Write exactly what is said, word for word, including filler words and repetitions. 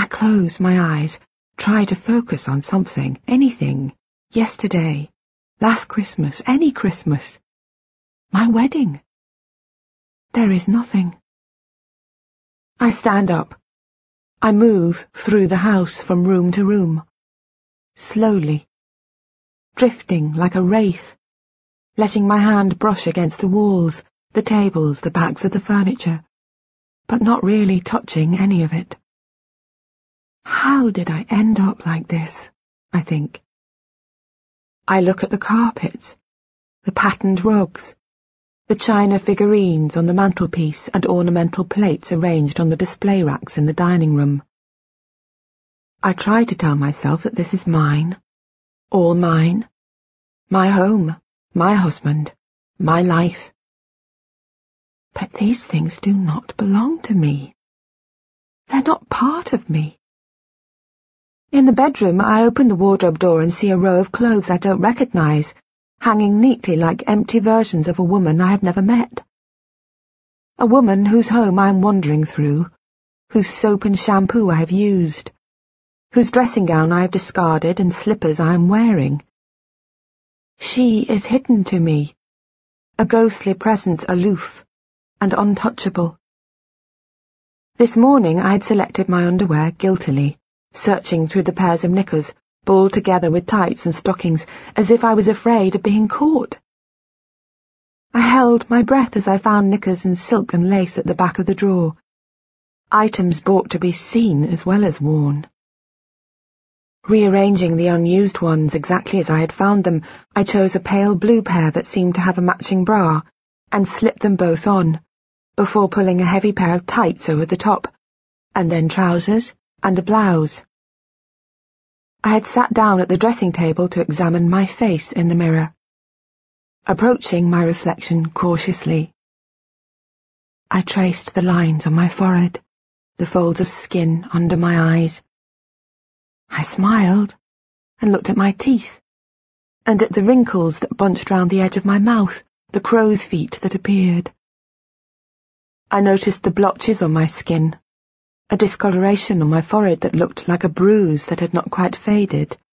close my eyes, try to focus on something, anything, yesterday, last Christmas, any Christmas, my wedding. There is nothing. I stand up. I move through the house from room to room, slowly, drifting like a wraith, letting my hand brush against the walls, the tables, the backs of the furniture, but not really touching any of it. How did I end up like this, I think. I look at the carpets, the patterned rugs, the china figurines on the mantelpiece and ornamental plates arranged on the display racks in the dining room. I try to tell myself that this is mine, all mine, my home, my husband, my life. But these things do not belong to me. They're not part of me. In the bedroom, I open the wardrobe door and see a row of clothes I don't recognize, hanging neatly like empty versions of a woman I have never met. A woman whose home I am wandering through, whose soap and shampoo I have used, whose dressing gown I have discarded and slippers I am wearing. She is hidden to me, a ghostly presence aloof and untouchable. This morning I had selected my underwear guiltily, searching through the pairs of knickers, balled together with tights and stockings, as if I was afraid of being caught. I held my breath as I found knickers and silk and lace at the back of the drawer, items bought to be seen as well as worn. Rearranging the unused ones exactly as I had found them, I chose a pale blue pair that seemed to have a matching bra, and slipped them both on, before pulling a heavy pair of tights over the top, and then trousers and a blouse. I had sat down at the dressing table to examine my face in the mirror, approaching my reflection cautiously. I traced the lines on my forehead, the folds of skin under my eyes. I smiled and looked at my teeth, and at the wrinkles that bunched round the edge of my mouth, the crow's feet that appeared. I noticed the blotches on my skin, a discoloration on my forehead that looked like a bruise that had not quite faded.